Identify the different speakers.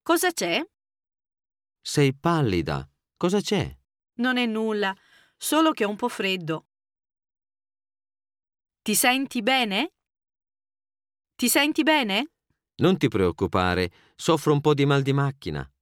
Speaker 1: Cosa c'è?
Speaker 2: Sei pallida. Cosa c'è?
Speaker 1: Non è nulla, solo che ho un po' freddo. Ti senti bene? Ti senti bene?
Speaker 2: Non ti preoccupare, soffro un po' di mal di macchina.